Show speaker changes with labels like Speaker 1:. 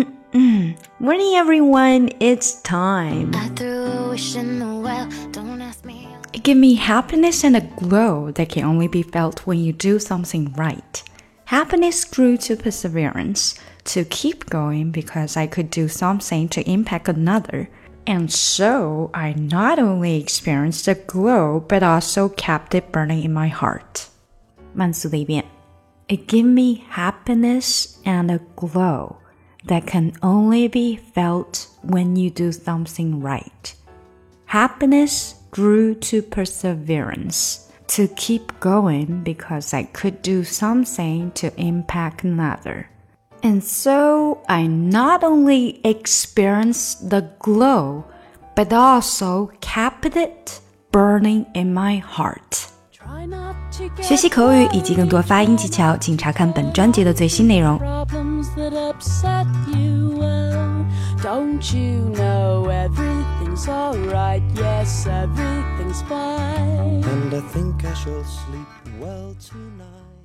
Speaker 1: Morning everyone, it's time. It gives me happiness and a glow that can only be felt when you do something right. Happiness grew to perseverance, to keep going because I could do something to impact another. And so I not only experienced the glow, but also kept it burning in my heart. 慢速的一遍 It gave me happiness and a glow that can only be felt when you do something right. Happiness grew to perseverance, to keep going because I could do something to impact another. And so I not only experienced the glow, but also kept it burning in my heart. 学习口语以及更多发音技巧，请查看本专辑的最新内容。Don't you know everything's alright? Yes, everything's fine. And I think I shall sleep well tonight.